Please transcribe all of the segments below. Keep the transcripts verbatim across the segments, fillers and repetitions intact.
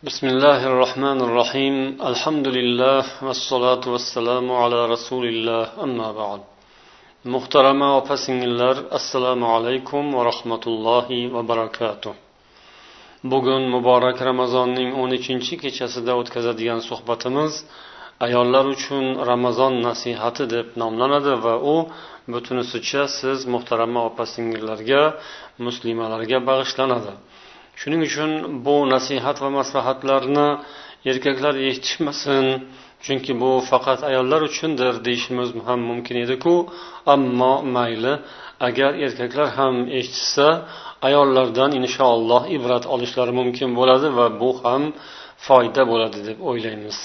بسم الله الرحمن الرحيم الحمد لله والصلاة والسلام على رسول الله أما بعد Muhtarama opa-singillar, assalomu alaykum va rahmatullohi va barakatuh. Bugun muborak Ramazonning o'n uchinchi kechasida o'tkazadigan suhbatimiz ayollar uchun Ramazon nasihati deb nomlanadi va u butunisicha siz muhtarama opa-singillarga, muslimalarga bag'ishlanadi. Shuning uchun bu nasihat va maslahatlarni erkaklar eshitishmasin, chunki bu faqat ayollar uchundir deyishimiz ham mumkin edi-ku, ammo mayli, agar erkaklar ham eshitsa, ayollardan inshaalloh ibrat olishlari mumkin bo'ladi va bu ham foyda bo'ladi deb o'ylaymiz.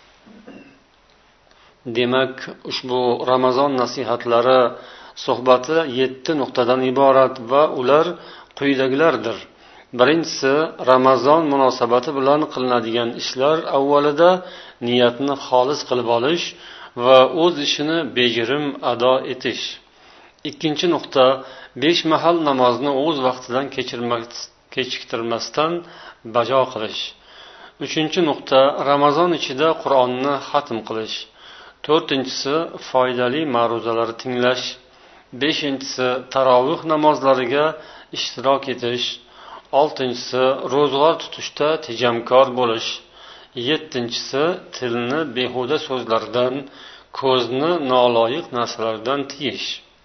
Demak, ushbu Ramazon nasihatlari suhbati yetti nuqtadan iborat va ular quyidagilardir. Birinchisi, Ramazon munosabati bilan qilinadigan ishlar avvalida niyatni xolis qilib olish va o'z ishini bejirim ado etish. Ikkinchi nuqta, besh mahal namozni o'z vaqtidan kechiktirmasdan bajo qilish. Uchinchi nuqta, Ramazon ichida Qur'onni xatm qilish. To'rtinchisi, foydali ma'ruzalar tinglash. Beshinchisi, tarovih namozlariga ishtirok etish. Oltinchisi, ro'zg'or tutishda tejamkor bo'lish. Yettinchisi, tilni behuda so'zlardan, ko'zni noloyiq narsalardan tiyish.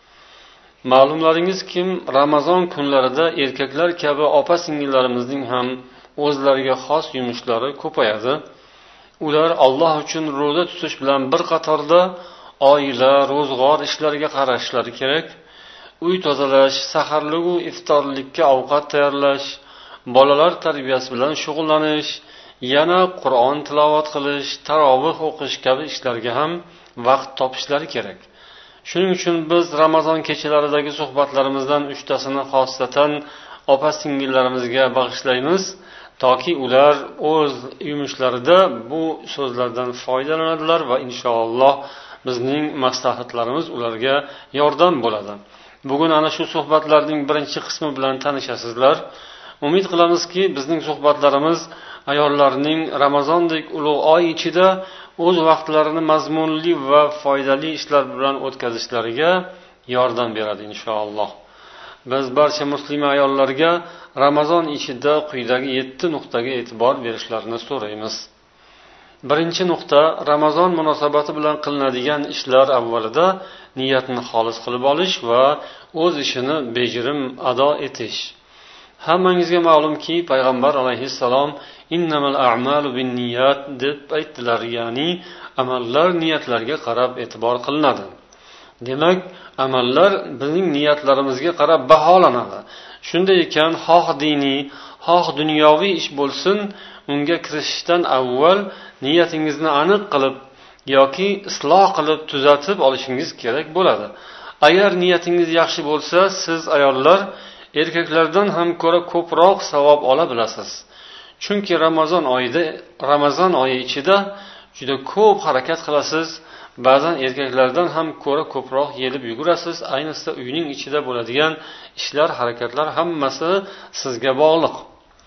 Ma'lumlaringiz kim, Ramazon kunlarida erkaklar kabi opa-singillarimizning ham o'zlariga xos yumushlari ko'payadi. Ular Alloh uchun ro'za tutish bilan bir qatorda oila, ro'zg'or ishlariga qarashlari kerak. Uy tozalash, saharlik va iftorlikka ovqat tayyorlash, bolalar tarbiyasi bilan shug'ullanish, yana Qur'on tilovat qilish, tarovih o'qish kabi ishlarga ham vaqt topishlari kerak. Shuning uchun biz Ramazon kechalaridagi suhbatlarimizdan uchtasini xosatan opa-singillarimizga bag'ishlaymiz, toki ular o'z yumushlaridagi bu so'zlardan foydalanadilar va inshaalloh bizning maslahatlarimiz ularga yordam bo'ladi. Bugun ana shu suhbatlarning birinchi qismi bilan tanishasizlar. Umid qilamizki, bizning suhbatlarimiz ayollarning Ramazondek ulug' oy ichida o'z vaqtlarini mazmunli va foydali ishlar bilan o'tkazishlariga yordam beradi inshaalloh. Biz barcha muslima ayollarga Ramazon ichida quyidagi yetti nuqtaga e'tibor berishlarini so'raymiz. Birinchi nuqta, Ramazon munosabati bilan qilinadigan ishlar avvalida niyatni xolis qilib olish va o'z ishini bejirim ado etish. Hammangizga ma'lumki, payg'ambar alayhissalom innamal a'malu binniyat deb aytdilar, ya'ni amallar niyatlarga qarab e'tibor qilinadi. Demak, amallar bizning niyatlarimizga qarab baholanadi. Shunday ekan, xoh diniy, xoh dunyoviy ish bo'lsin, unga kirishishdan avval niyatingizni aniq qilib yoki isloh qilib tuzatib olishingiz kerak bo'ladi. Agar niyatingiz yaxshi bo'lsa, siz ayollar erkaklardan ham ko'ra ko'proq savob ola bilasiz. Chunki Ramazon oyida, Ramazon oyi ichida juda ko'p harakat qilasiz. Ba'zan erkaklardan ham ko'ra ko'proq yelib yugurasiz. Ayniqsa uyning ichida bo'ladigan ishlar, harakatlar hammasi sizga bog'liq.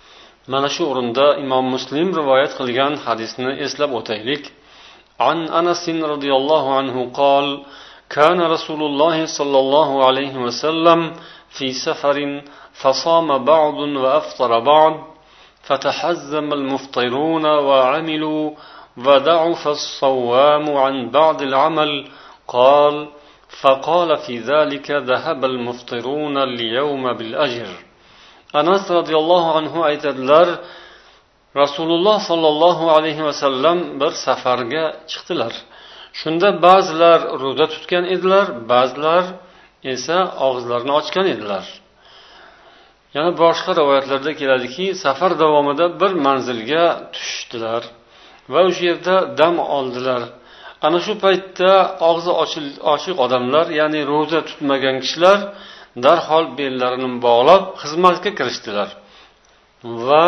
Mana shu o'rinda Imom Muslim rivoyat qilgan hadisni eslab o'taylik. An Anas radhiyallohu anhu qol: "Kana Rasululloh sallallohu alayhi va sallam fi safarin fasama ba'dun va aftara ba'd, fatahazzama al-muftiruna wa 'amilu wa da'afa as-sawwamu 'an ba'd al-'amal." Qal: "Faqala fi dhalika dhahaba al-muftiruna al-yawma bil-ajr." Anas radhiyallohu anhu aytadilar, Rasululloh sallallohu alayhi va sallam bir safarga chiqdilar. Shunda ba'zilar ro'za tutgan edilar, ba'zilar esa og'izlarini ochgan edilar. Yana boshqa rivoyatlarda keladiki, safar davomida bir manzilga tushdilar va o'sha yerda dam oldilar. Ana shu paytda og'zi ochiq odamlar, ya'ni ro'za tutmagan kishilar darhol bellarini bog'lab xizmatga kirishdilar va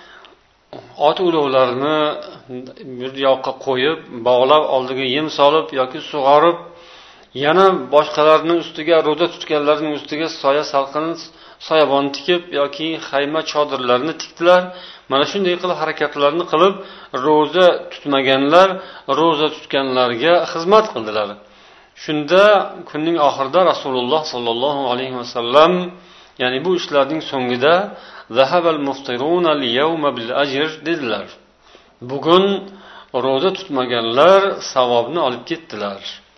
ot ulovlarini bir yoqqa qo'yib, bog'lab oldiga yem solib yoki sug'orib, yana boshqalarning ustiga, ro'za tutganlarning ustiga soya salqin soyabon tikib yoki xayma chodirlarni tikdilar. mana shunday qilib harakatlarni qilib ro'za tutmaganlar ro'za tutganlarga xizmat qildilar. Shunda kunning oxirida Rasululloh sollallohu alayhi vasallam, ya'ni bu ishlarning so'ngida zahabal muftiruna al-yawma bil ajr dedilar. Bugun ro'za tutmaganlar savobni olib ketdilar.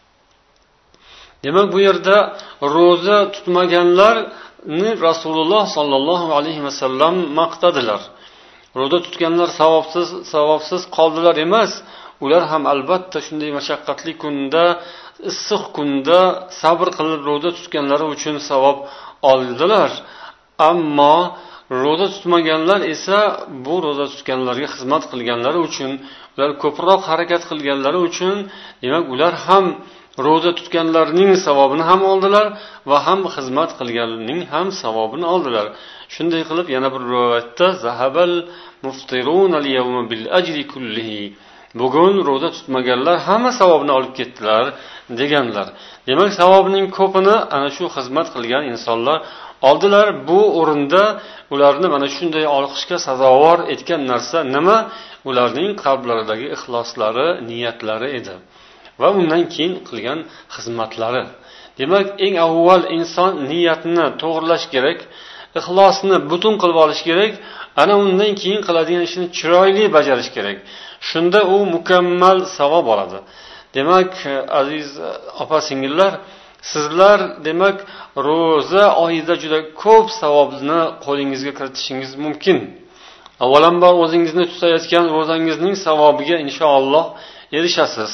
Demak, bu yerda ro'za tutmaganlarni Rasululloh sollallohu alayhi vasallam maqtadilar. Ro'za tutganlar savobsiz savobsiz qoldilar emas, ular ham albatta shunday mashaqqatli kunda, issiq kunda sabr qilib ro'za tutganlari uchun savob oldilar. Ammo ro'za tutmaganlar esa bu ro'za tutganlarga xizmat qilganlari uchun, ular ko'proq harakat qilganlari uchun, demak ular ham ro'za tutganlarning savobini ham oldilar va ham xizmat qilganlarning ham savobini oldilar. Shunday qilib yana bir rivoyatda zahabal muftirun al-yawma bil ajri kullihi, bugun ro'za tutmaganlar hamma savobni olib ketdilar deganlar. Demak, savobning ko'pini ana shu xizmat qilgan insonlar oldilar. Bu o'rinda ularni mana shunday olqishga sazovor etgan narsa nima? Ularning qalblaridagi ixloslari, niyatlari edi va undan keyin qilgan xizmatlari. Demak, eng avval inson niyatni to'g'rilash kerak, ixlosni butun qilib olish kerak, ana undan keyin qiladigan ishni chiroyli bajarish kerak. Shunda u mukammal savob oladi. Demak, aziz opa-singillar, sizlar demak ro'za oyida juda ko'p savobni qo'lingizga kiritishingiz mumkin. Avvalambor o'zingizni tutayotgan ro'zangizning savobiga inshaalloh erishasiz.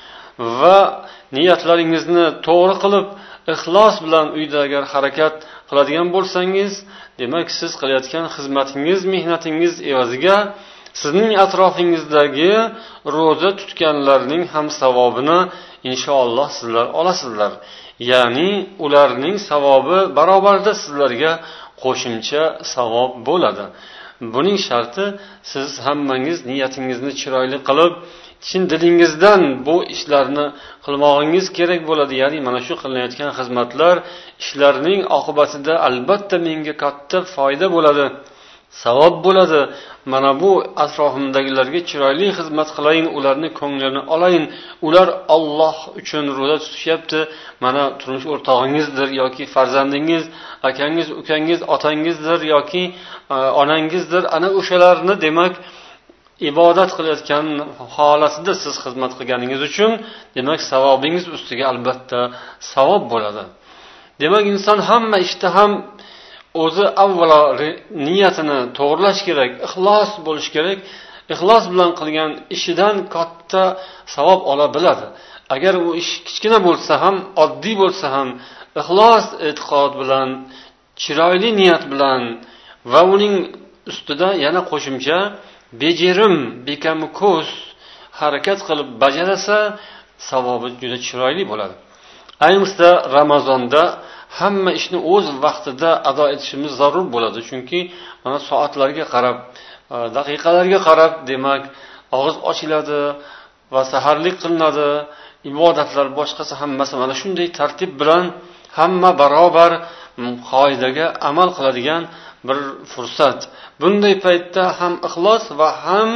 Va niyatlaringizni to'g'ri qilib, ixlos bilan uyda agar harakat qiladigan bo'lsangiz, demak siz qilayotgan xizmatingiz, mehnatingiz evaziga sizning atrofingizdagi ro'za tutganlarning ham savobini inshaalloh sizlar olasizlar. Ya'ni ularning savobi barobarida sizlarga qo'shimcha savob bo'ladi. Buning sharti siz hammangiz niyatingizni chiroyli qilib, chin dilingizdan bu ishlarni qilmoqingiz kerak bo'ladi. Ya'ni mana shu qilinayotgan xizmatlar, ishlarning oqibatida albatta menga katta foyda bo'ladi, savob bo'ladi. Mana bu atrofimdagilarga chiroyli xizmat qilayin, ularni ko'nglarini olayin. Ular Alloh uchun ro'za tutishyapti. Mana turmush o'rtog'ingizdir yoki farzandingiz, akangiz, ukangiz, otangizdir yoki onangizdir. Ana o'shalarni demak ibodat qilayotgan holatida siz xizmat qilganingiz uchun demak savobingiz ustiga albatta savob bo'ladi. Demak, inson hamma ishda ham o'zi avvalo niyatini to'g'rilash kerak, ixlos bo'lish kerak. Ixlos bilan qilgan ishidan katta savob ola biladi. Agar u ish kichkina bo'lsa ham, oddiy bo'lsa ham, ixlos e'tiqod bilan, chiroyli niyat bilan va uning ustida yana qo'shimcha bejirim, bekamuko'z harakat qilib bajarasa, savobi juda chiroyli bo'ladi. Ayniqsa Ramazonda hamma ishni o'z vaqtida ado etishimiz zarur bo'ladi. Chunki mana soatlarga qarab, daqiqalarga qarab demak og'iz ochiladi va saharlik qilinadi. Ibodatlar boshqasi hammasi mana shunday tartib bilan hamma barobar qoidaga amal qiladigan bir fursat. Bunday paytda ham ixlos va ham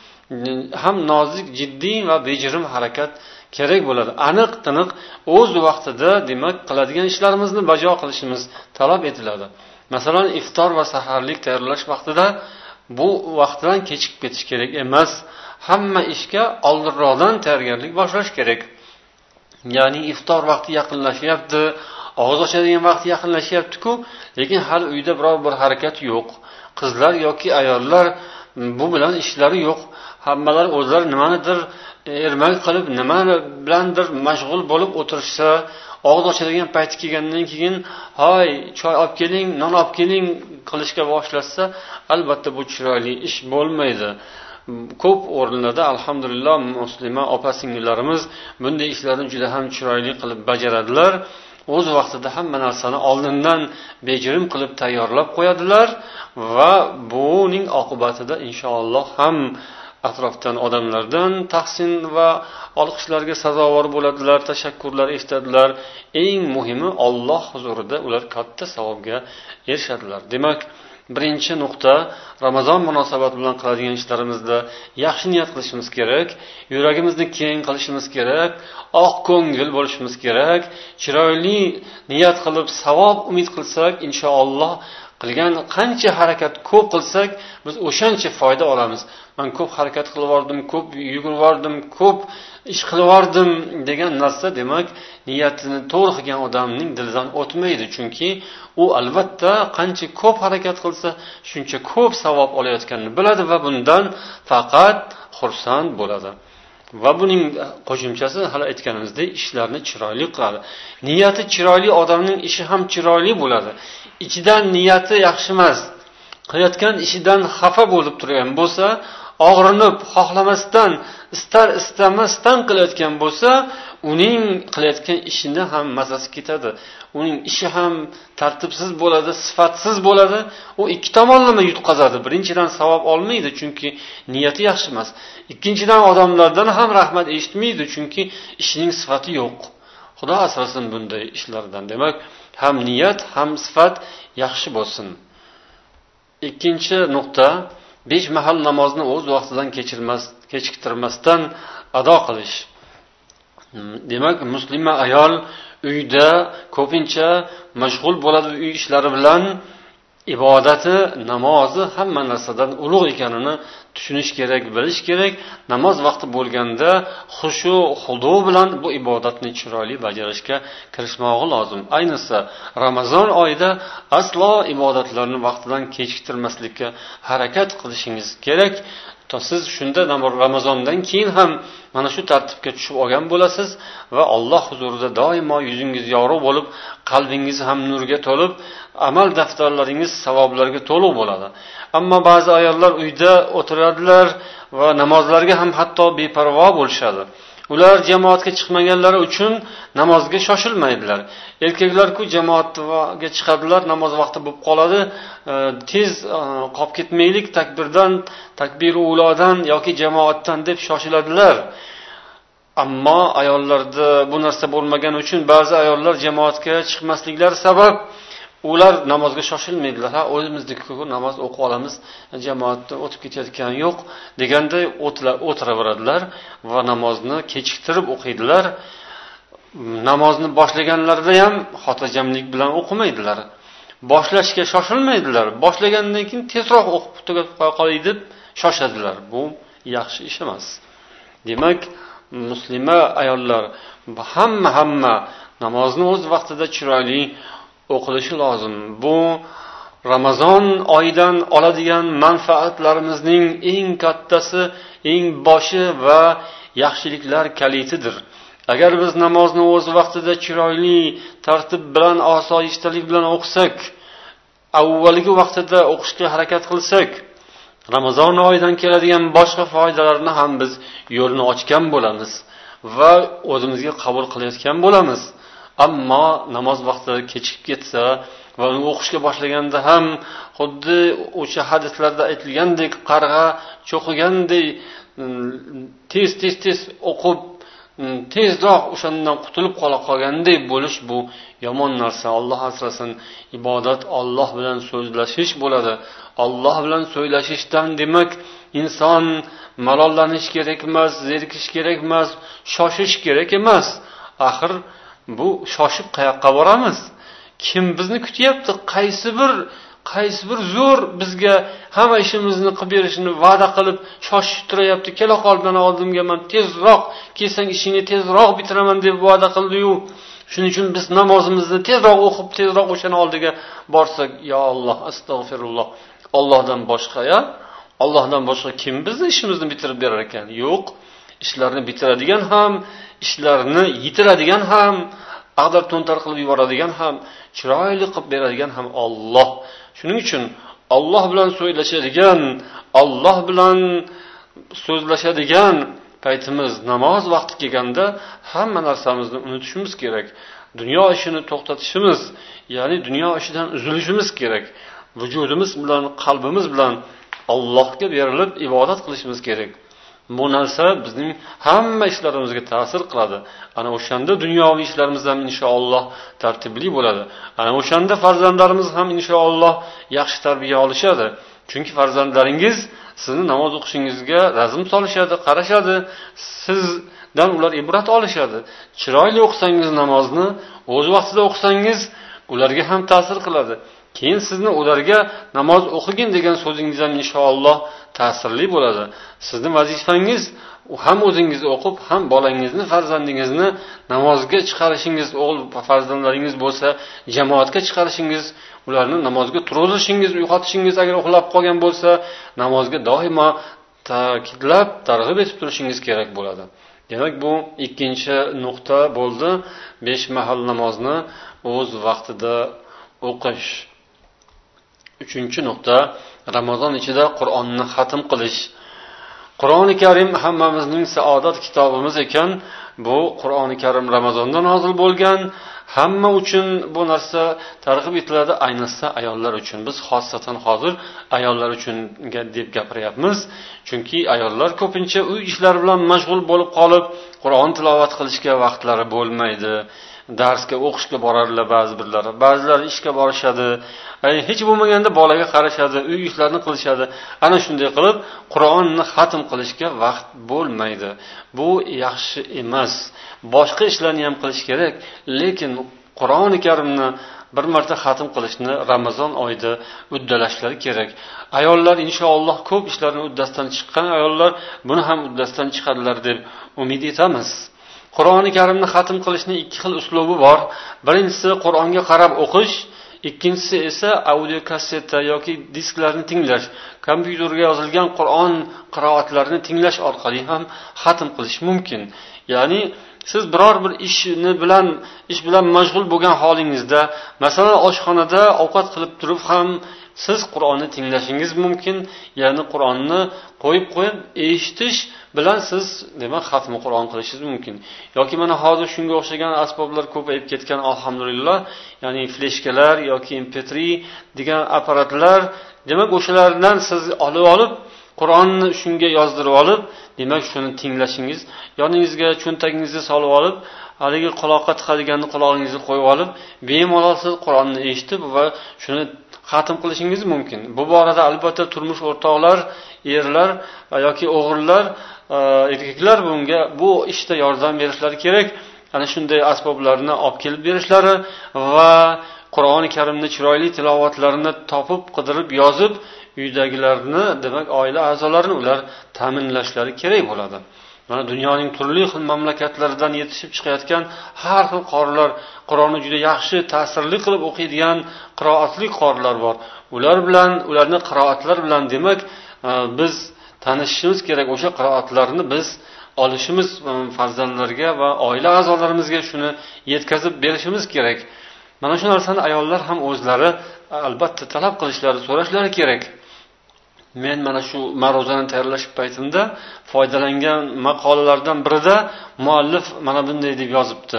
ham nozik, jiddiy va bejirim harakat kerak bo'ladi. Aniq tiniq o'z vaqtida demak qiladigan ishlarimizni bajo qilishimiz talab etiladi. Masalan, iftor va saharlik tayyorlash vaqtida bu vaqtdan kechikib ketish kerak emas. Hamma ishga oldinroqdan tayyorgarlik boshlash kerak. Ya'ni iftor vaqti yaqinlashyapti, og'iz ochadigan vaqt yaqinlashyapti-ku, lekin hali uyda biror bir harakat yo'q. Qizlar yoki ayollar bu bilan ishlari yo'q. Hammalar o'zlari nimanidir ermak qilib, nima bilandir mashg'ul bo'lib o'tirishsa, og'iz ochadigan payti kelgandan keyin, "Hoy, choy olib keling, non olib keling" qilishga boshlasa, albatta bu chiroyli ish bo'lmaydi. Ko'p o'rinlarda alhamdulillah musulmon opa-singillarimiz bunday ishlarni juda ham chiroyli qilib bajaradilar. O'z vaqtida hamma narsani oldindan bejirim qilib tayyorlab qo'yadilar va buning oqibatida inshaalloh ham atrofdan odamlardan tahsin va olqishlarga sazovor bo'ladilar, tashakkurlar eshitadilar. Eng muhimi Alloh huzurida ular katta savobga erishadilar. Demak, birinchi nuqta, Ramazon munosabati bilan qiladigan ishlarimizda yaxshi niyat qilishimiz kerak, yuragimizni keng qilishimiz kerak, oq ko'ngil bo'lishimiz kerak, chiroyli niyat qilib savob umid qilsak, inshaalloh qilgan qancha harakat ko'p qilsak, biz o'shancha foyda olamiz. Men ko'p harakat qilib yordim, ko'p yugurib yordim, ko'p ish qilib yordim degan narsa demak, niyatini to'g'ri qilgan odamning dilidan o'tmaydi, chunki u albatta qancha ko'p harakat qilsa, shuncha ko'p savob olayotganini biladi va bundan faqat xursand bo'ladi. Va buning qo'shimchasi hali aytganimizdek, ishlarni chiroyli qiladi. Niyati chiroyli odamning ishi ham chiroyli bo'ladi. Ichidan niyati yaxshi emas, qilayotgan ishidan xafa bo'lib turgan bo'lsa, og'rinib, xohlamasdan, istar istamasdan qilayotgan bo'lsa, uning qilayotgan ishini ham mazasi ketadi. Uning ishi ham tartibsiz bo'ladi, sifatsiz bo'ladi. U ikki tomonlama yutqazadi. Birinchidan savob olmaydi, chunki niyati yaxshi emas. Ikkinchidan odamlardan ham rahmat eshitmaydi, chunki ishining sifati yo'q. Xudo asrasin bunday ishlardan. Demak, ham niyat, ham sifat yaxshi bo'lsin. Ikkinchi nuqta, besh mahal namozni o'z vaqtidan kechirmas, kechiktirmasdan ado qilish. Demak, muslima ayol uyda ko'pincha mashg'ul bo'ladi uy ishlari bilan, ibodati, namozi hamma narsadan ulug' ekanini tushunish kerak, bilish kerak. Namoz vaqti bo'lganda xushu, xudo bilan bu ibodatni chiroyli bajarishga kirishmog'i lozim. Ayniqsa Ramazon oyida aslo ibodatlarni vaqtidan kechiktirmaslikka harakat qilishingiz kerak. Siz shunda Ramazondan keyin ham mana shu tartibga tushib olgan bo'lasiz va Alloh huzurida doimo yuzingiz yorug' bo'lib, qalbingiz ham nurga to'lib, amal daftarlaringiz savoblarga to'liq bo'ladi. Ammo ba'zi ayollar uyda o'tiradilar va namozlarga ham hatto beparvo bo'lishadi. Ular jamoatga chiqmaganlari uchun namozga shoshilmaydilar. Erkaklar-ku jamoatga chiqadilar, namoz vaqti bo'lib qoladi, tez qolib ketmaylik, takbirdan, takbir ulodan yoki jamoatdan deb shoshiladilar. Ammo ayollarda bu narsa bo'lmagani uchun ba'zi ayollar jamoatga chiqmasliklari sabab ular namozga shoshilmaydilar. Ha, o'zimizniki namoz o'qib olamiz, jamoatda o'tib ketayotgani yo'q deganday o'tiraveradilar va namozni kechiktirib o'qiydilar. Namozni boshlaganlarida ham xotirjamlik bilan o'qimaydilar. Boshlashga shoshilmaydilar. Boshlagandan keyin tezroq o'qib tugatib qo'yay deb shoshadilar. Bu yaxshi ish emas. Demak, muslima ayollar hamma hamma namozni o'z vaqtida chiroyli o'qilishi lozim. Bu Ramazon oyidan oladigan manfaatlarimizning eng kattasi, eng boshi va yaxshiliklar kalitidir. Agar biz namozni o'z vaqtida chiroyli, tartib bilan, osoyishtalik bilan o'qisak, avvalgi vaqtida o'qishga harakat qilsak, Ramazon oyidan keladigan boshqa foydalarni ham biz yo'lni ochgan bo'lamiz va o'zimizga qabul qilayotgan bo'lamiz. Ammo namoz vaqti kechikib ketsa va uni o'qishga boshlaganda ham xuddi o'sha hadislarda aytilgandek qarg'a cho'qigandek tez tez tez o'qib tezroq o'shandan qutulib qola qolganday bo'lish, bu yomon narsa. Alloh asrasin. Ibodat Alloh bilan so'zlashish bo'ladi. Alloh bilan so'zlashishdan demak inson malollanish kerak emas, zerikish kerak emas, shoshish kerak emas. Axir bu shoshib qayoqqa boramiz? Kim bizni kutyapti? Qaysi bir qaysi bir zo'r bizga hamma ishimizni qilib berishini va'da qilib shoshib turayapti. Kela qoldan oldimga, men tezroq kelsang ishingni tezroq bitiraman deb va'da qildi-yu. Shuning uchun biz namozimizni tezroq o'qib, tezroq o'shani oldiga borsak, yo Alloh, astag'firulloh. Allohdan boshqa ya? Allohdan boshqa kim bizni ishimizni bitirib berar ekan? Yo'q. Ishlarni bitiradigan ham, ishlarni yitiradigan ham, ag'dar to'ntar qilib yuboradigan ham, chiroyli qilib beradigan ham Alloh. Shuning uchun Alloh bilan so'zlashadigan, Alloh bilan so'zlashadigan paytimiz namoz vaqti kelganda hamma narsamizni unutishimiz kerak. Dunyo ishini to'xtatishimiz, ya'ni dunyo ishidan uzilishimiz kerak. Vujudimiz bilan, qalbimiz bilan Allohga berilib ibodat qilishimiz kerak. Bu narsa bizning hamma ishlarimizga ta'sir qiladi. Ana o'shanda dunyoviy ishlarimiz ham inshaalloh tartibli bo'ladi. Ana o'shanda farzandlarimiz ham inshaalloh yaxshi tarbiya olishadi. Chunki farzandlaringiz sizni namoz o'qishingizga razm solishadi, qarashadi. Sizdan ular ibrat olishadi. Chiroyli o'qisangiz namozni, o'z vaqtida o'qisangiz, ularga ham ta'sir qiladi. Keyin sizni ularga namoz o'qigin degan so'zingiz ham inshaalloh ta'sirli bo'ladi. Sizning vazifangiz ham o'zingiz o'qib, ham bolangizni, farzandingizni namozga chiqarishingiz, o'g'il farzandlaringiz bo'lsa, jamoatga chiqarishingiz, ularni namozga turg'izishingiz, uyg'otishingiz, agar uxlab qolgan bo'lsa, namozga doimo ta'kidlab, targ'ib etib turishingiz kerak bo'ladi. Demak, bu ikkinchi nuqta bo'ldi. besh mahal namozni o'z vaqtida o'qish. Uchinchi nuqta, Ramazon ichida Qur'onni xatm qilish. Qur'oni Karim hammamizning saodat kitobimiz ekan. Bu Qur'oni Karim Ramazonda nozil bo'lgan. Hamma uchun bu narsa targ'ib etiladi, ayniqsa ayollar uchun. Biz xosatan hozir ayollar uchun deb gapiryapmiz. Chunki ayollar ko'pincha uy ishlari bilan mashg'ul bo'lib qolib, Qur'on tilovat qilishga vaqtlari bo'lmaydi. Darsga o'qishga borarlar ba'zi birlari, ba'zilar ishga borishadi. Hech bo'lmaganda bolaga qarashadi, uy ishlarini qilishadi. Ana shunday qilib Qur'onni xatm qilishga vaqt bo'lmaydi. Bu yaxshi emas. Boshqa ishlarni ham qilish kerak, lekin Qur'oni Karimni bir marta xatm qilishni Ramazon oyida uddalashlari kerak. Ayollar inshaalloh ko'p ishlarni uddasidan chiqqan ayollar buni ham uddasidan chiqadilar deb umid etamiz. Qur'oni Karimni xatm qilishning ikki xil uslubi bor. Birinchisi Qur'onga qarab o'qish, ikkinchisi esa audio kasseta yoki disklarni tinglash. Kompyuterga yozilgan Qur'on qiroatlarini tinglash orqali ham xatm qilish mumkin. Ya'ni siz biror bir ishni bilan ish bilan mashg'ul bo'lgan holingizda, masalan, oshxonada ovqat qilib turib ham siz Qur'onni tinglashingiz mumkin. Ya'ni Qur'onni qo'yib qo'yib eshitish bilan siz demak xatmi Qur'on qilishingiz mumkin. Yoki mana hozir shunga o'xshagan asboblar ko'payib ketgan, alhamdulillah. Ya'ni fleshkalar yoki em pe tri degan apparatlar, demak o'shalardan siz olib olib Qur'onni shunga yozdirib olib, demak shuni tinglashingiz, yoningizga cho'ntagingizga solib olib, haligi quloqqa tiqadiganni qulog'ingizga qo'yib olib, bemalol siz Qur'onni eshitib va shuni xatm qilishingiz mumkin. Bu borada albatta turmush o'rtoqlar, erlar yoki o'g'illar, erkaklar bunga bu ishda yordam berishlari kerak. Ana shunday asboblarni olib kelib berishlari va Qur'oni Karimni chiroyli tilovatlarini topib, qidirib, yozib, uydagilarni, demak, oila a'zolarini ular ta'minlashlari kerak bo'ladi. Mana dunyoning turli xil mamlakatlaridan yetishib chiqayotgan har xil qorilar, Qur'onni juda yaxshi, ta'sirli qilib o'qiydigan qiroatli qorilar bor. Ular bilan, ularning qiroatlari bilan demak, biz tanishishimiz kerak. O'sha qiroatlarni biz olishimiz, farzandlarga va oila a'zolarimizga shuni yetkazib berishimiz kerak. Mana shu narsani ayollar ham o'zlari albatta talab qilishlari, so'rashlari kerak. Men mana shu ma'ruzani tayyorlash paytimda foydalangan maqolalardan birida muallif mana bunday deb yozibdi.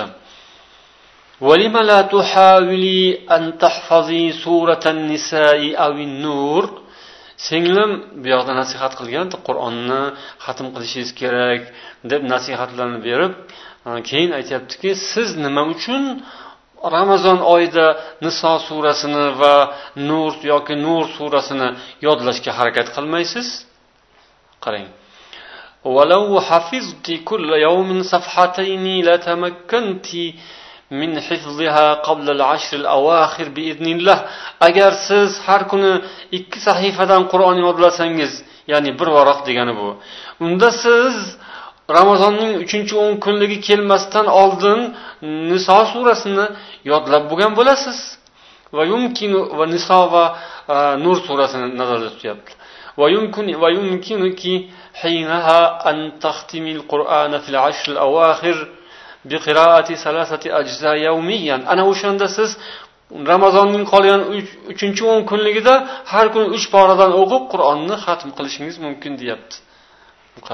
وَلِمَ لَا تُحَاوِلِي أَنْ تَحْفَظِي سُورَةَ النِّسَاءِ أَوِ النُّورِ. Singlim bu yoqda nasihat qilgan, Qur'onni xatm qilishingiz kerak deb nasihatlarni berib, keyin aytayaptiki, siz nima uchun Ramazon oyida Niso surasini va Nur yoki Nur surasini yodlashga harakat qilmaysiz? Qarang. وَلَوْ حَفِظْتِ كُلَّ يَوْمٍ صَفْحَتَيْنِ لَتَمَكَّنْتِ min hifziha qabla al-ashr al-awakhir biiznillah. Agar siz har kuni ikki sahifadan Qur'on yodlasangiz, ya'ni bir varoq degani bu. Unda siz Ramazonning uchinchi o'n kunligi kelmasdan oldin Niso surasini yodlab bo'lgan bo'lasiz. Va yumkinu va Niso va Nur surasini nazarda tutyapti. Va yumkin va yumkinuki hinaha an tahtimi al-Qur'ana fil ashr al-awakhir biqiraati salasati ajza yawmiyan. Ana o'shanda siz Ramazonning qolgan uchinchi o'n kunligida har kuni uch paradan o'qib Qur'onni xatm qilishingiz mumkin, deyapti. Qarang.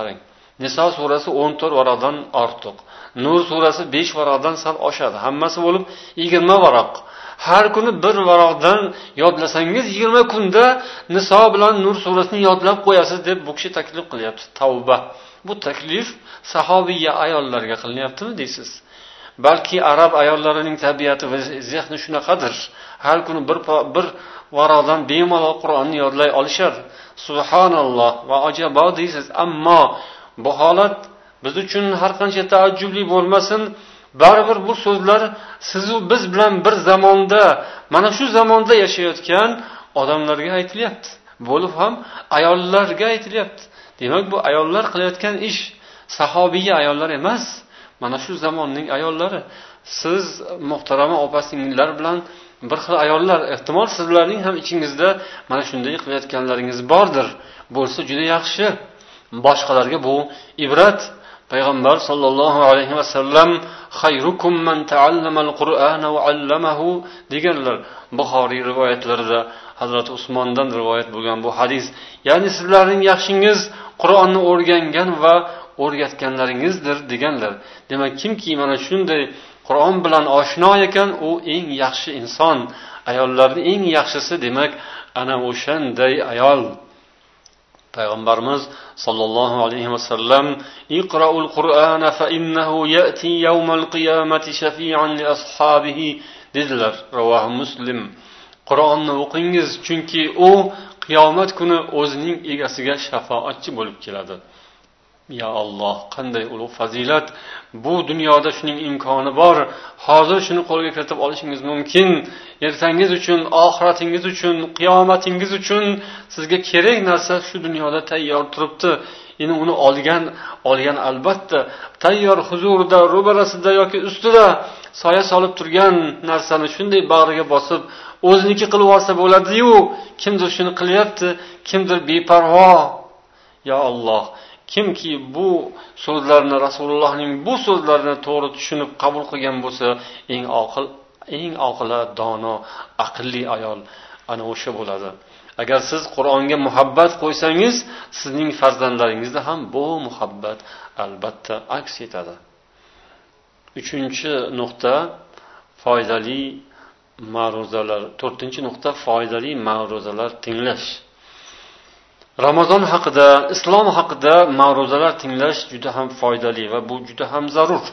Niso surasi o'n to'rt varaqdan ortiq. Nur surasi besh varaqdan sal oshadi. Hammasi bo'lib yigirma varaq. Har kuni bir varaqdan yodlasangiz yigirma kunda Niso bilan Nur surasini yodlab qo'yasiz deb bu kishi taklif qilyapti. Tavba. Bu taklif sahobiya ayollarga qilinyaptimi deysiz? Balki arab ayollarining tabiati va zehni shunaqadir. Har kuni bir bir varaqdan bemalol Qur'onni yodlay olishar. Subhanalloh va ajabo deysiz. Ammo bu holat biz uchun har qancha taajjubli bo'lmasin, baribir bu so'zlar siz u biz bilan bir zamonda, mana shu zamonda yashayotgan odamlarga aytilyapti. Bo'lib ham ayollarga aytilyapti. Demak, bu ayollar qilayotgan ish sahobiya ayollar emas, mana shu zamonning ayollari. Siz muhtarama opa-singillar bilan bir xil ayollar, ehtimol sizlarning ham ichingizda mana shunday qilayotganlaringiz bordir. Bo'lsa juda yaxshi. Boshqalarga bu ibrat. Payg'ambar sollallohu alayhi va sallam xayrukum man ta'allamal Qur'ana va 'allamahu deganlar. Buxoriy rivoyatlarida Hazrat Usmondan rivoyat bo'lgan bu hadis. Ya'ni sizlarning yaxshingiz Qur'onni o'rgangan va o'rgatganlaringizdir deganlar. Demak, kimki mana shunday Qur'on bilan oshno ekan, u eng yaxshi inson. Ayollarning eng yaxshisi demak ana o'shanday ayol. Payg'ambarimiz sollallohu alayhi va sallam iqra'ul Qur'ana fa innahu ya'ti yawmal qiyamati shafi'an li ashabihi dedilar. Ravoh Muslim. Qur'onni o'qingiz, chunki u qiyomat kuni o'zining egasiga shafoatchi bo'lib keladi. Ya Alloh, qanday ulug' fazilat. Bu dunyoda shuning imkoni bor. Hozir shuni qo'lga kiritib olishingiz mumkin. Ertangiz uchun, oxiratingiz uchun, qiyomatingiz uchun sizga kerak narsa shu dunyoda tayyor turibdi. Endi uni olgan, olgan albatta tayyor huzurida, ro'barasida yoki ustida soya solib turgan narsani shunday bag'riga bosib, o'ziniki qilib olsa bo'ladi-yu, kimdir shuni qilyapti, kimdir beparvo. Ya Alloh, kimki bu so'zlarni, Rasulullohning bu so'zlarini to'g'ri tushunib qabul qilgan bo'lsa, eng oqil, eng oqila, dono, aqlli ayol ana o'sha bo'ladi. Agar siz Qur'onga muhabbat qo'ysangiz, sizning farzandlaringizda ham bu muhabbat albatta aks etadi. Uchinchi nuqta foydali ma'ruzalar. To'rtinchi nuqta foydali ma'ruzalar tinglash. Ramazon haqida, islom haqida ma'ruzalar tinglash juda ham foydali va bu juda ham zarur.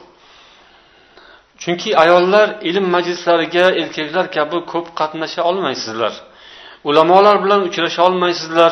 Chunki ayollar ilm majlislariga erkaklar kabi ko'p qatnasha olmaysizlar. Ulamolar bilan uchrasha olmaysizlar.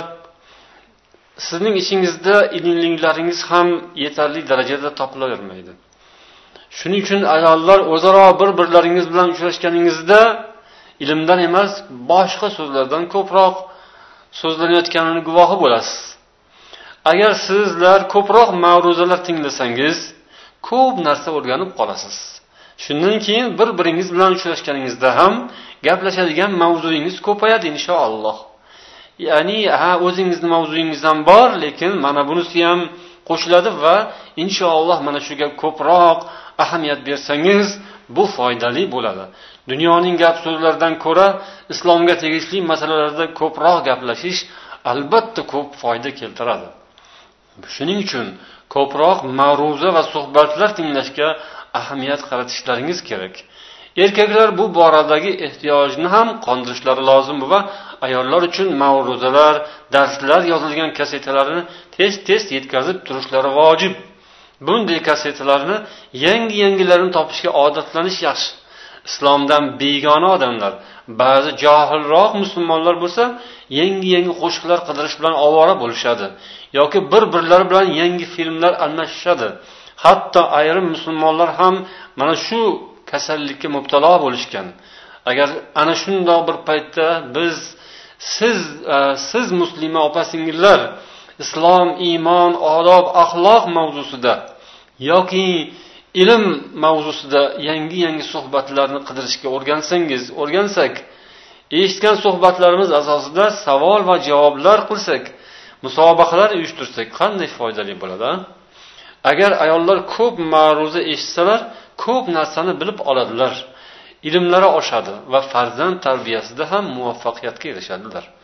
Sizning ichingizda ilmliklaringiz ham yetarli darajada topilavermaydi. Shuning uchun ayollar o'zaro bir-birlaringiz bilan uchrashganingizda ilmdan emas, boshqa so'zlardan ko'proq so'zlanayotganini guvohi bo'lasiz. Agar sizlar ko'proq ma'ruzalar tinglasangiz, ko'p narsa o'rganib qolasiz. Shundan keyin bir-biringiz bilan uchrashganingizda ham gaplashadigan mavzuingiz ko'payadi inshaalloh. Ya'ni ha o'zingizning mavzuingiz ham bor, lekin mana bunisi ham qo'shiladi va inshaalloh mana shuga ko'proq ahamiyat bersangiz, bu foydali bo'ladi. Dunyoning gap so'zlaridan ko'ra islomga tegishli masalalarda ko'proq gaplashish albatta ko'p foyda keltiradi. Shuning uchun ko'proq ma'ruza va suhbatlar tinglashga ahamiyat qaratishlaringiz kerak. Erkaklar bu boradagi ehtiyojni ham qondirishlari lozim va ayollar uchun ma'ruzalar, darslar yozilgan kasetalarni tez-tez yetkazib turishlari vojib. Bunday kasetalarni yangi-yangilarini topishga odatlanish yaxshi. Islomdan begona odamlar, ba'zi johilroq musulmonlar bo'lsa, yangi-yangi qo'shiqlar qidirish bilan ovora bo'lishadi yoki bir-birlari bilan yangi filmlar almashishadi. Hatto ayrim musulmonlar ham mana shu kasallikka mubtalo bo'lishgan. Agar ana shundoq bir paytda biz siz siz muslima opa-singillar islom, iymon, odob, axloq mavzusida yoki ilm mavzusida yangi-yangi suhbatlarni qidirishga o'rgansangiz, o'rgansak, eshitgan suhbatlarimiz asosida savol va javoblar qilsak, musobaqalar uyushtirsak qanday foydali bo'ladi? Agar ayollar ko'p ma'ruza eshitsalar, ko'p narsani bilib oladilar. Ilmlari oshadi va farzand tarbiyasida ham muvaffaqiyatga erishadilar.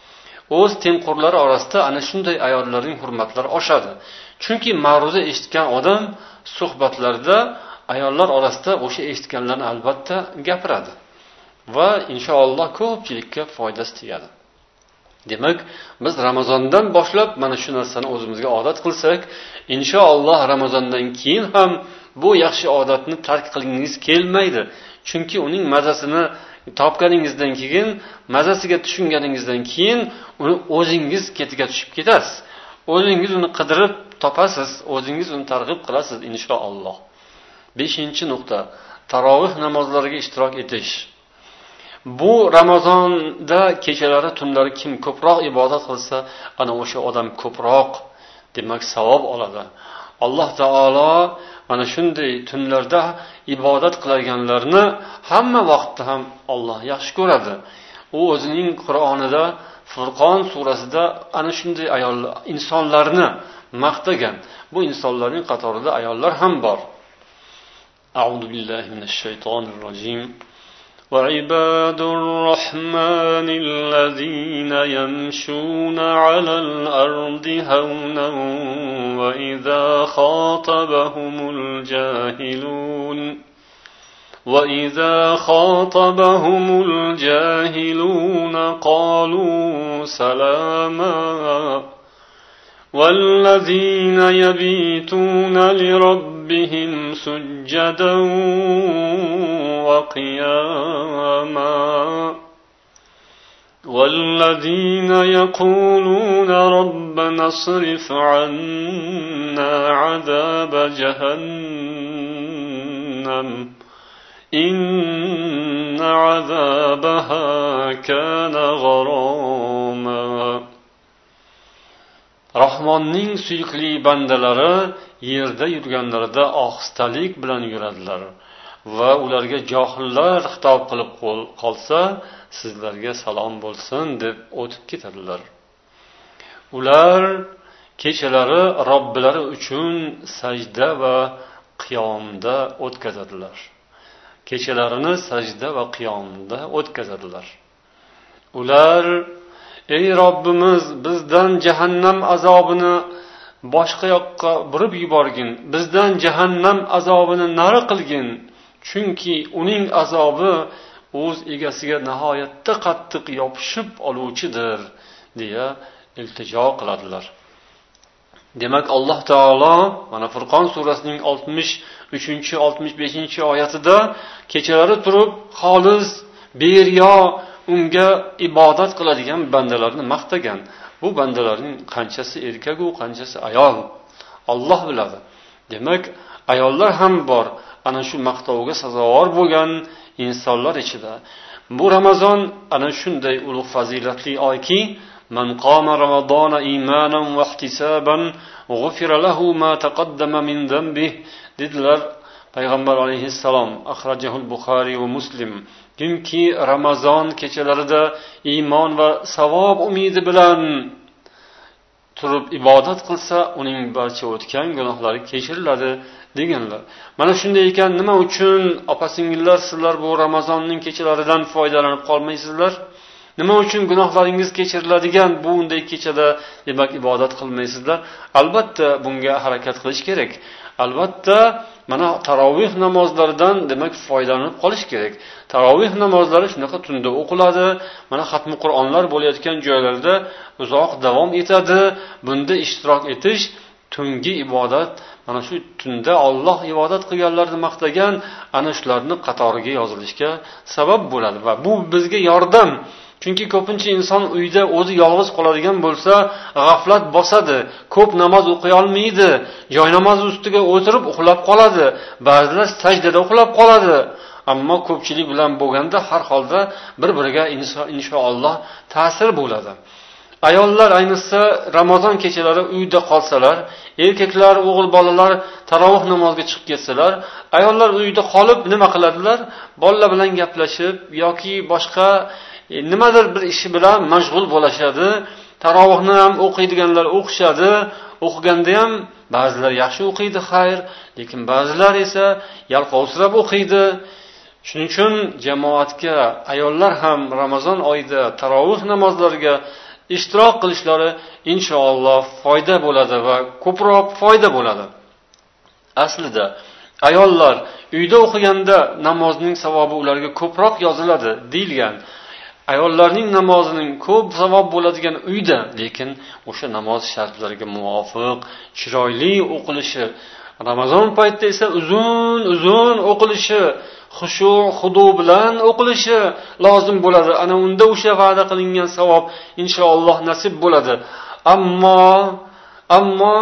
o'z tengqurlari orasida ana shunday ayollarning hurmatlari oshadi. Chunki ma'ruza eshitgan odam suhbatlarda ayollar orasida o'sha eshitganlarni albatta gapiradi va inshaalloh ko'pchilikka foydasi tegadi. Demak, biz Ramazondan boshlab mana shu narsani o'zimizga odat qilsak, inshaalloh Ramazondan keyin ham bu yaxshi odatni tark qilingiz kelmaydi. Chunki uning mazasini topganingizdan keyin, mazasiga tushunganingizdan keyin uni o'zingiz ketiga tushib ketasiz. O'zingiz uni qidirib topasiz, o'zingiz uni targ'ib qilasiz inshaalloh. beshinchi nuqta: tarovih namozlariga ishtirok etish. Bu Ramazonda kechalari, tunlari kim ko'proq ibodat qilsa, ana o'sha odam ko'proq demak savob oladi. Alloh taolo mana shunday tunlarda ibodat qilganlarni hamma vaqtda ham Alloh yaxshi ko'radi. U o'zining Qur'onida, Furqon surasida ana shunday ayol insonlarni maqtagan. Bu insonlarning qatorida ayollar ham bor. A'udhu billahi minash shaytonir rojim. وعباد الرحمن الذين يمشون على الأرض هونا وإذا خاطبهم الجاهلون وإذا خاطبهم الجاهلون قالوا سلاما والذين يبيتون لربهم سجدا وقياما والذين يقولون ربنا اصرف عنا عذاب جهنم إن عذابها كان غراما. Rahmonning suyukli bandalari yerda yurganlarida ohistalik bilan yuradilar va ularga johillar xitob qilib qolsa, sizlarga salom bo'lsin deb o'tib ketadilar. Ular kechalari Robbilari uchun sajda va qiyomda o'tkazadilar. Kechalarini sajda va qiyomda o'tkazadilar. Ular: ey Robbimiz, bizdan jahannam azobini boshqa yoqqa burib yuborgin, bizdan jahannam azobini nari qilgin, chunki uning azobi o'z egasiga nihoyatda qattiq yopishib oluvchidir, deya iltijo qiladilar. Demak, Alloh taolo mana Furqon surasining oltmish uchinchi oltmish beshinchi oyatida kechalari turib xolis, beriyo unga ibodat qiladigan bandalarni maqtagan. Bu bandalarning qanchasi erkak u, qanchasi ayol, Alloh biladi. Demak, ayollar ham bor ana shu maqtovga sazovor bo'lgan insonlar ichida. Bu Ramazon ana shunday ulug' fazilatli oyki, man qama ramazona imanan va ihtisaban g'ufira lahu ma taqaddama min zambihi dedilar Payg'ambar alayhissalom. Akhrajahul Buxoriy va Muslim. Kimki Ramazon kechalarida iymon va savob umidi bilan turib ibodat qilsa, uning barcha o'tgan gunohlari kechiriladi deganlar. Mana shunday ekan, nima uchun opa-singillar sizlar bu Ramazonning kechalaridan foydalanib qolmaysizlar? Nima uchun gunohlaringiz kechiriladigan bu unday kechada demak ibodat qilmaysizlar? Albatta bunga harakat qilish kerak. Albatta mana tarovih namozlaridan demak foydalanib qolish kerak. Tarovih namozlari shunaqa tunda o'qiladi. Mana xatmi Qur'onlar bo'layotgan joylarda uzoq davom etadi. Bunda ishtirok etish tungi ibodat, mana shu tunda Alloh ibodat qilganlarni maqtagan ana shularning qatoriga yozilishga sabab bo'ladi va bu bizga yordam. Chunki ko'pincha inson uyda o'zi yolg'iz qoladigan bo'lsa, g'aflat bosadi, ko'p namoz o'qiy olmaydi, joy namoz ustiga o'tirib uxlab qoladi, ba'zilar sajdada uxlab qoladi. Ammo ko'pchilik bilan bo'lganda har holda bir-biriga inshaalloh ta'sir bo'ladi. Ayollar ayniqsa Ramazon kechalari uyda qolsalar, erkaklar, o'g'il bolalar tarovih namoziga chiqib ketsalar, ayollar uyda qolib nima qiladilar? Bolalar bilan gaplashib yoki boshqa nimadir bir ishi bilan mashg'ul bo'lishadi. Tarovihni ham o'qiydiganlar o'qishadi. O'qiganda ham ba'zilar yaxshi o'qiydi, xayr, lekin ba'zilar esa yalqovsirab o'qiydi. Shuning uchun jamoatga ayollar ham Ramazon oyida tarovih namozlariga ishtirok qilishlari inshaalloh foyda bo'ladi va ko'proq foyda bo'ladi. Aslida ayollar uyda o'qiganda namozning savobi ularga ko'proq yoziladi deyilgan. Ayollarning namozining ko'p savob bo'ladigan uyda, lekin o'sha namoz shartlariga muvofiq chiroyli o'qilishi, Ramazon paytida esa uzun-uzun o'qilishi, xushu, xudu bilan o'qilishi lozim bo'ladi. Ana unda o'sha va'da qilingan savob inshaalloh nasib bo'ladi. Ammo ammo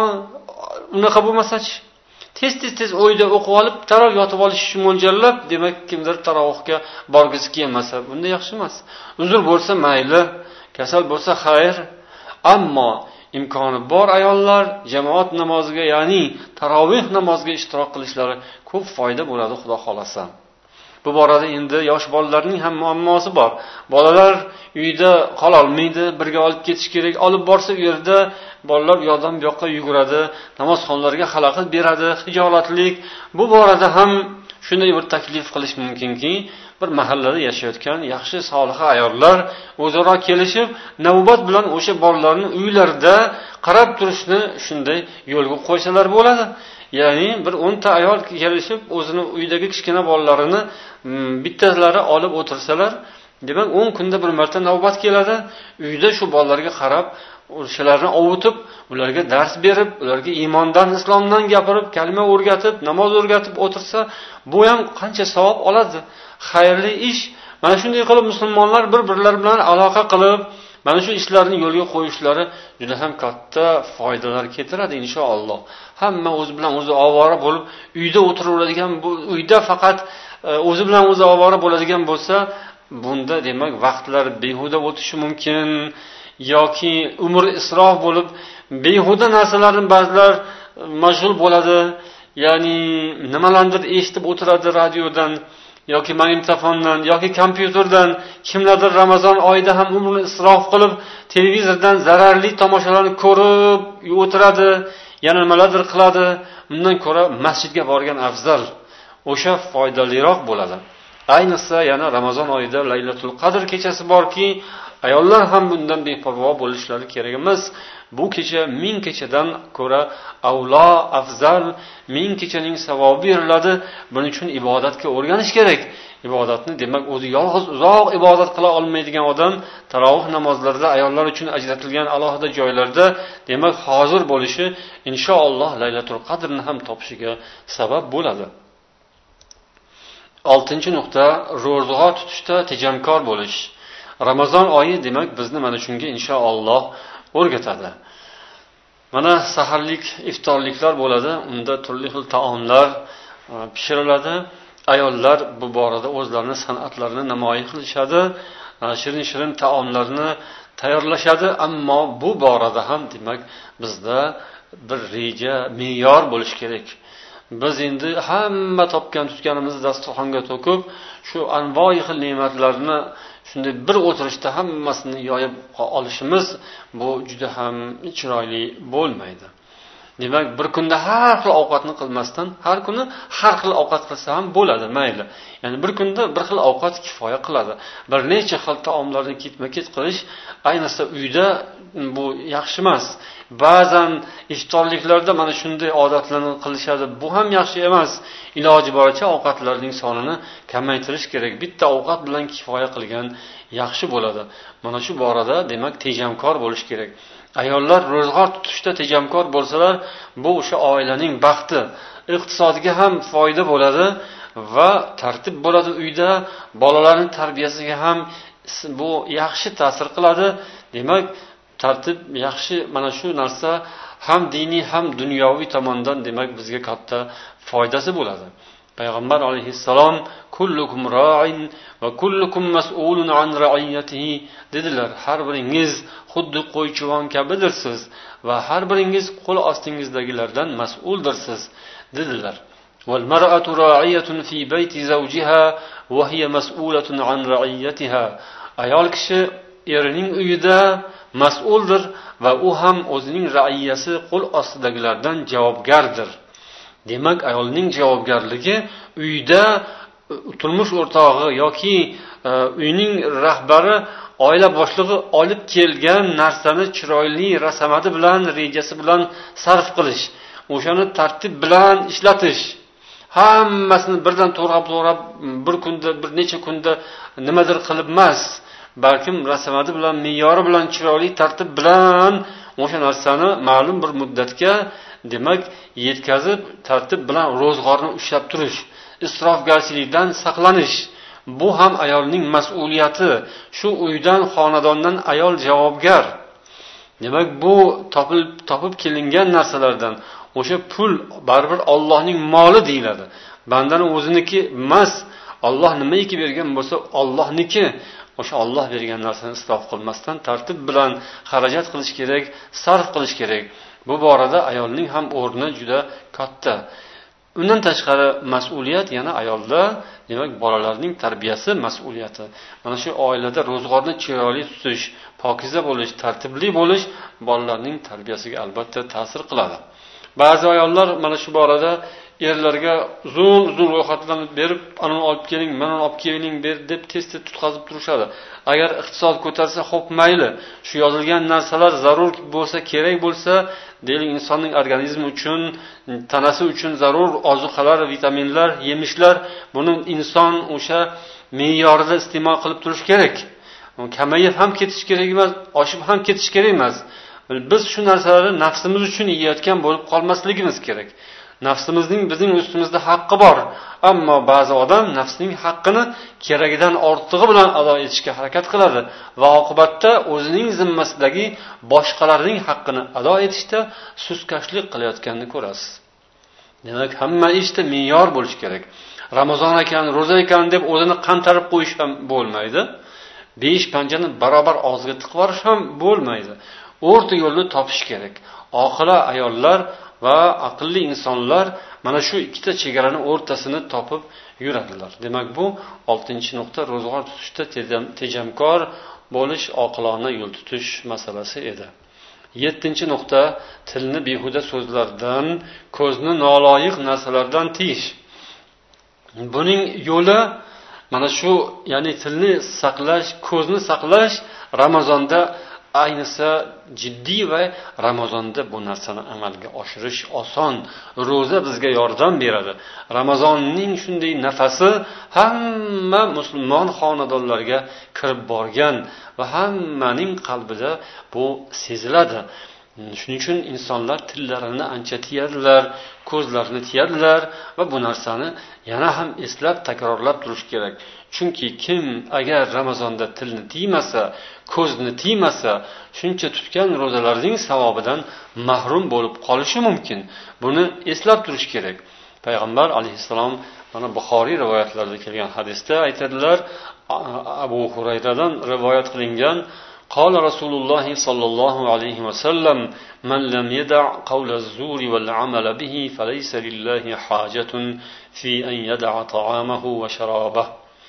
unaqa bo'lmasa-chi, tez-tez tez o'yda o'qib olib, taroq yotib olish uchun mo'ljallab, demak kimdir tarovuhga borgisi kelmasa, bunda yaxshi emas. Uzr bo'lsa mayli, kasal bo'lsa xayr. Ammo imkoni bor ayollar jamoat namoziga, ya'ni tarovih namoziga ishtirok qilishlari ko'p foyda bo'ladi, Xudo xolasa. Bu borada endi yosh bolalarning ham muammosi bor. Bolalar uyda qola olmaydi, birga olib ketish kerak. Olib borsa u yerda bolalar u yoqdan bu yoqqa yuguradi, namozxonlarga xalaqit beradi, hijolatlik. Bu borada ham shunday bir taklif qilish mumkinki, bir mahallada yashayotgan yaxshi solih ayollar o'zaro kelishib, navbat bilan o'sha bolalarni uylarida qarab turishni shunday yo'lga qo'ysalar bo'ladi. Ya'ni bir o'nta ayol kelishib, o'zini uydagi kichkina bolalarini bittalari olib o'tirsalar, demak o'n kunda bir marta navbat keladi. Uyda shu bolalarga qarab, o'shalarni ovutib, ularga dars berib, ularga iymondan, islomdan gapirib, kalima o'rgatib, namoz o'rgatib o'tirsa, bu ham qancha savob oladi. Xayrli ish. Mana shunday qilib musulmonlar bir-birlari bilan aloqa qilib, mana shu ishlarni yo'lga qo'yishlari juda ham katta foydalar keltiradi inshaalloh. Hamma o'zi bilan o'zi ovora bo'lib, uyda o'tiraveradigan, bu uyda faqat o'zi bilan o'zi ovora bo'ladigan bo'lsa, bunda demak vaqtlar behuda o'tishi mumkin yoki umr isrof bo'lib, behuda narsalarni ba'zilar mashg'ul bo'ladi. Ya'ni nimalardir eshitib o'tiradi radiodan yoki magnitofondan yoki kompyuterdan, kimlardir Ramazon oyida ham umrini isrof qilib, televizordan zararli tomoshalarni ko'rib o'tiradi, yana nimalardir qiladi. Undan ko'ra masjidga borgan afzal, o'sha foydaliroq bo'ladi. Ayniqsa yana Ramazon oyida Laylatul Qadr kechasi borki, ayollar ham bundan beparvo bo'lishlari kerak emas. Bu kecha ming kechadan ko'ra avlo, afzal, ming kechaning savobi beriladi. Buning uchun ibodatga o'rganish kerak. Ibodatni demak o'zi yolg'iz uzoq ibodat qila olmaydigan odam tarovih namozlarida ayollar uchun ajratilgan alohida joylarda demak hozir bo'lishi inshaalloh Laylatul Qadrni ham topishiga sabab bo'ladi. oltinchi nuqta, ro'za tutishda tejamkor bo'lish. Ramazon oyi demak bizni mana shunga inshaalloh o'rgatadi. Mana saharlik, iftorliklar bo'ladi, unda turli xil taomlar pishiriladi. Ayollar bu borada o'zlarining san'atlarini namoyish qilishadi, shirin-shirin taomlarni tayyorlashadi, ammo bu borada ham demak bizda bir reja, me'yor bo'lish kerak. Biz endi hamma topgan tutganimizni dasturxonga to'kib, shu anvoy xil ne'matlarni shunday bir o'tirishda hammasini yoyib olishimiz bu juda ham chiroyli bo'lmaydi. Demak, bir kunda har xil ovqatni qilmasdan, har kuni har xil ovqat qilsa ham bo'ladi, mayli. Ya'ni bir kunda bir xil ovqat kifoya qiladi. Bir necha xil taomlarni ketma-ket qilish, ayniqsa uyda bu yaxshi emas. Ba'zan iftorliklarda mana shunday odatlarni qilishadi. Bu ham yaxshi emas. Iloji boricha ovqatlarning sonini kamaytirish kerak. Bitta ovqat bilan kifoya qilgan yaxshi bo'ladi. Mana shu borada demak tejamkor bo'lish kerak. Ayollar ro'zg'or tutishda tejamkor bo'lsalar, bu o'sha oilaning baxti, iqtisodiga ham foyda bo'ladi va tartib bo'ladi uyda, bolalarning tarbiyasiga ham bu yaxshi ta'sir qiladi. Demak, tartib yaxshi, mana shu narsa ham diniy ham dunyoviy tomondan demak bizga katta foydasi bo'ladi. Payg'ambar alayhissalom kullukum ra'in va kullukum mas'ulun an ra'iyatihi dedilar. Har biringiz xuddi qo'ychivon kabidirsiz va har biringiz qo'l ostingizdagilardan mas'uldirsiz dedilar. Wal mar'atu ra'iyatun fi bayti zawjiha wa hiya mas'ulatun an ra'iyatiha. Ayol kishi erining uyida mas'uldir va u ham o'zining ra'iyasi, qo'l ostidagilardan javobgardir. Demak, ayolning javobgarligi uyda turmush o'rtog'i yoki uyning rahbari, oila boshlig'i olib kelgan narsani chiroyli rasamati bilan, rejasi bilan sarf qilish, o'shani tartib bilan ishlatish, hammasini birdan to'g'rab-to'g'rab bir kunda, bir necha kunda nimadir qilib emas, balkim rasamati bilan, me'yori bilan, chiroyli tartib bilan o'sha narsani ma'lum bir muddatga, demak, yetkazib, tartib bilan ro'zg'orni ushlab turish, isrofgarchilikdan saqlanish. Bu ham ayolning mas'uliyati. Shu uydan, xonadondan ayol javobgar. Demak, bu topib topib kelingan narsalardan o'sha pul baribir Allohning moli deyiladi. Bandaning o'ziniki emas. Alloh nimaiki bergan bo'lsa, Allohniki. O'sha Alloh bergan narsani isrof qilmasdan tartib bilan xarajat qilish kerak, sarf qilish kerak. Bu borada ayolning ham o'rni juda katta. Undan tashqari mas'uliyat yana ayolda, demak, bolalarning tarbiyasi mas'uliyati. Mana shu oilada ro'zg'orni chiroyli tutish, pokiza bo'lish, tartibli bo'lish bolalarning tarbiyasiga albatta ta'sir qiladi. Ba'zi ayollar mana shu borada erlarga uzun-uzun ro'yxatlarni berib, anani olib keling, mana olib keling deb tez-tez tutqazib turishadi. Agar iqtisod ko'tarsa, xo'p mayli, shu yozilgan narsalar zarur bo'lsa, kerak bo'lsa, deylik, insonning organizmi uchun, tanasi uchun zarur ozuqalar, vitaminlar, yemishlar, buni inson o'sha me'yorida iste'mol qilib turish kerak. Kamayib ham ketish kerak emas, oshib ham ketish kerak emas. Biz shu narsalarni nafsimiz uchun yeyotgan bo'lib qolmasligimiz kerak. Nafsimizning bizning ustimizda haqqi bor, ammo ba'zi odam nafsining haqqini keragidan ortig'i bilan ado etishga harakat qiladi va oqibatda o'zining zimmasidagi boshqalarning haqqini ado etishda suskashlik qilayotganini ko'rasiz. Demak, hamma ishda me'yor bo'lish kerak. Ramazon ekan, ro'za ekan deb o'zini qantarib qo'yish ham bo'lmaydi. Besh panjani barobar og'ziga tiqvarish ham bo'lmaydi. O'rta yo'lni topish kerak. Oqila ayollar va aqlli insonlar mana shu ikkita chegarani o'rtasini topib yuradilar. Demak, bu oltinchi nuqta ro'zg'or tutishda tejamkor bo'lish, oqilona yo'l tutish masalasi edi. yettinchi nuqta tilni behuda so'zlardan, ko'zni noloyiq narsalardan tiyish. Buning yo'li mana shu, ya'ni tilni saqlash, ko'zni saqlash Ramazonda ayniqsa jiddiy va Ramazonda bu narsani amalga oshirish oson. Ro'za bizga yordam beradi. Ramazonning shunday nafasi hamma musulmon xonadonlarga kirib borgan va hammaning qalbida bu seziladi. Shuning uchun insonlar tillarini ancha tiyadilar, ko'zlarini tiyadilar va bu narsani yana ham eslab takrorlab turish kerak. Chunki kim agar Ramazonda tilni tiymasa, ko'zni tiymasa, shuncha tutgan ro'zalarning savobidan mahrum bo'lib qolishi mumkin. Buni eslab turish kerak. Payg'ambar alayhissalom mana Buxoriy rivoyatlarida kelgan hadisda aytadilar, Abu Hurayradan rivoyat qilingan, قال رسول الله صلى الله عليه وسلم من لم يدع قول الزور والعمل به فليس لله حاجة في أن يدع طعامه وشرابه.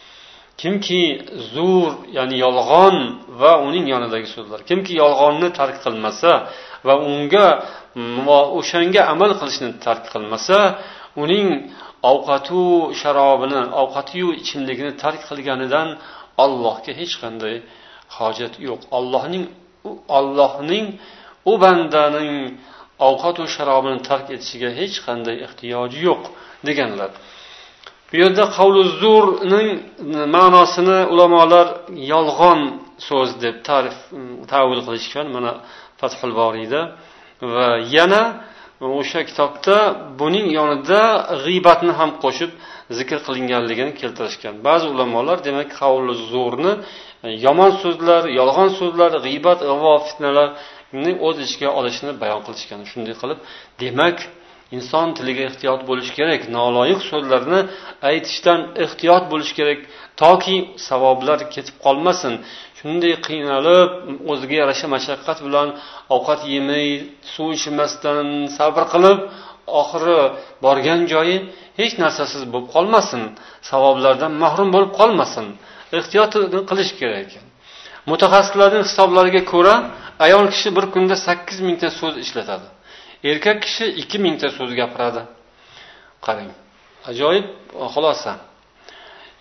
Kimki zur, ya'ni yolg'on va uning yonidagi so'zlar, kimki yolg'onni tark qilmasa va unga va o'shanga amal qilishni tark qilmasa, uning ovqatu sharobini, ovqatiyu ichimligini tark qilganidan Allohga hech qanday hojat yo'q. Allohning Allohning u bandaning ovqat va sharobini tark etishiga hech qanday ehtiyoji yo'q deganlar. Bu yerda qavlu zurning ma'nosini ulamolar yolg'on so'z deb ta'rif ta'vil qilishgan, mana Fathul Boriyda va yana o'sha kitobda buning yonida g'iybatni ham qo'shib zikr qilinganligini keltirishgan. Ba'zi ulamolar demak qavlu zurni yomon so'zlar, yolg'on so'zlar, g'iybat, ig'vo, fitnalarni o'z ichiga olishini bayon qilishgan. Shunday qilib, demak, inson tiliga ehtiyot bo'lish kerak, noloyiq so'zlarni aytishdan ehtiyot bo'lish kerak, toki savoblar ketib qolmasin. Shunday qiynalib, o'ziga yarasha mashaqqat bilan ovqat yemay, suv ichmasdan sabr qilib, oxiri borgan joyi hech narsasiz bo'lib qolmasin, savoblardan mahrum bo'lib qolmasin. Ehtiyotni qilish kerak ekan. Mutaxassislarning hisoblariga ko'ra, ayol kishi bir kunda sakkiz mingta so'z ishlatadi. Erkak kishi ikki mingta so'z gapiradi. Qarang. Ajoyib xulosa.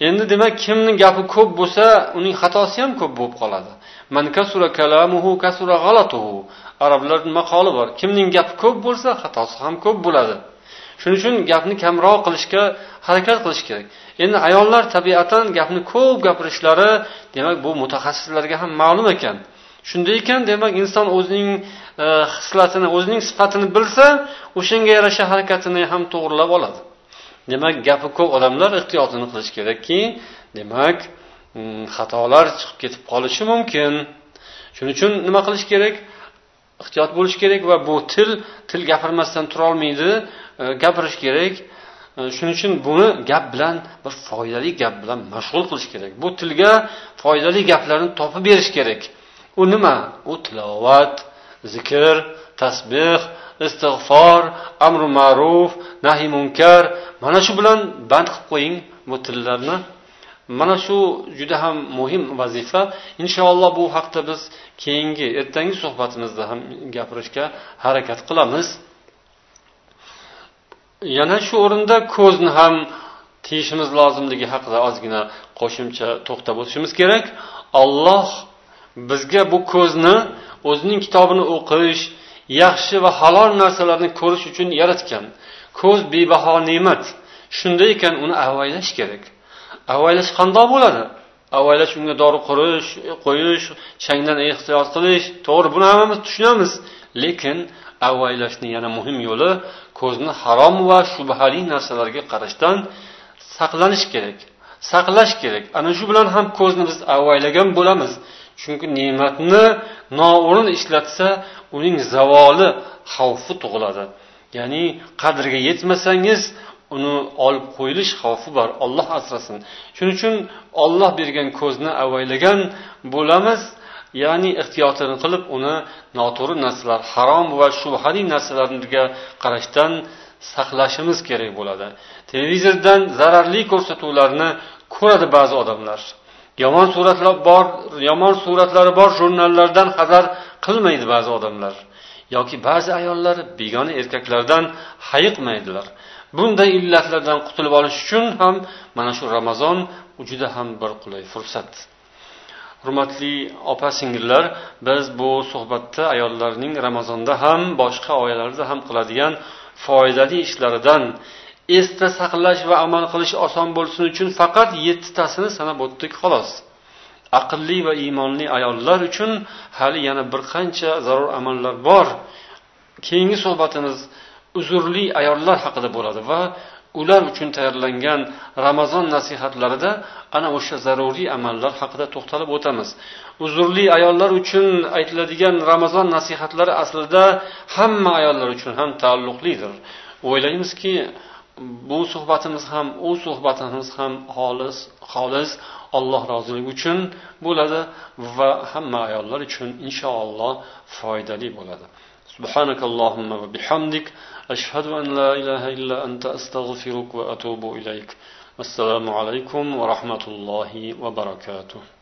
Endi demak, kimning gapi ko'p bo'lsa, uning xatosi ham ko'p bo'lib qoladi. Man kasura kalamuhu kasura g'alatuhu. Arablarning maqoli bor. Kimning gapi ko'p bo'lsa, xatosi ham ko'p bo'ladi. Shuning uchun gapni kamroq qilishga harakat qilish kerak. Endi ayollar tabiatan gapni ko'p gapirishlari, demak, bu mutaxassislarga ham ma'lum ekan. Shunday ekan, demak, inson o'zining hislatini, o'zining sifatini bilsa, o'shanga yarasha harakatini ham to'g'rilab oladi. Demak, gapi ko'p odamlar ehtiyotini qilish kerakki, demak, xatolar chiqib ketib qolishi mumkin. Shuning uchun nima qilish kerak? Ehtiyot bo'lish kerak va bu til, til gapirmasdan tura olmaydi, gapirish kerak. Shuning uchun buni gap bilan, bir foydali gap bilan mashg'ul qilish kerak. Bu tilga foydali gaplarni topib berish kerak. U nima? U tilovat, zikr, tasbih, istig'for, amru ma'ruf, nahi munkar. Mana shu bilan band qilib qo'ying bu tillarni. Mana shu juda ham muhim vazifa. Inshaalloh bu haqda biz keyingi ertangi suhbatimizda ham gapirishga harakat qilamiz. Yana shu o'rinda ko'zni ham tiyishimiz lozimligi haqida ozgina qo'shimcha to'xtab o'tishimiz kerak. Alloh bizga bu ko'zni o'zining kitobini o'qish, yaxshi va halol narsalarni ko'rish uchun yaratgan. Ko'z bebaho ne'mat. Shunday ekan uni avaylash kerak. Avaylash qanday bo'ladi? Avaylash unga dori qurish, qo'yish, changdan ehtiyot qilish, to'g'ri, buni hammamiz tushunamiz. Lekin avaylashning yana muhim yo'li ko'zni harom va shubhali narsalarga qarashdan saqlanish kerak. Saqlash kerak. Ana shu bilan ham ko'zni biz avaylagan bo'lamiz. Chunki ne'matni noo'rin ishlatsa, uning zavoli xavfi tug'iladi. Ya'ni qadriga yetmasangiz, uni olib qo'yilish xavfi bor. Alloh asrasin. Shuning uchun Alloh bergan ko'zni avaylagan bo'lamiz. Ya'ni ehtiyotini qilib, uni noto'g'ri narsalar, harom va shubhali narsalarga qarashdan saqlashimiz kerak bo'ladi. Televizordan zararli ko'rsatuvlarni ko'radi ba'zi odamlar. Yomon suratlar bor, yomon suratlari bor jurnallardan xabar qilmaydi ba'zi odamlar. Yoki ba'zi ayollar begona erkaklardan hayiqmaydilar. Bunday illatlardan qutulib olish uchun ham mana shu Ramazon juda ham bir qulay fursat. Hurmatli opa-singillar, biz bu suhbatda ayollarning Ramazonda ham, boshqa oylarda ham qiladigan foydali ishlaridan esda saqlash va amal qilish oson bo'lsin uchun faqat yetti tasini sanab o'tdik xolos. Aqlli va iymonli ayollar uchun hali yana bir qancha zarur amallar bor. Keyingi suhbatimiz uzrli ayollar haqida bo'ladi va ular uchun tayyorlangan Ramazon nasihatlarida ana o'sha zaruriy amallar haqida to'xtalib o'tamiz. Uzrli ayollar uchun aytiladigan Ramazon nasihatlari aslida hamma ayollar uchun ham taalluqlidir. O'ylaymizki, bu suhbatimiz ham, u suhbatimiz ham xolis, xolis Alloh roziligi uchun bo'ladi va hamma ayollar uchun inshaalloh foydali bo'ladi. Subhanakallahumma va bihamdik ashhadu an la ilaha illa anta astaghfiruka va atubu ilayk. Assalomu alaykum va rahmatullohi va barakatuh.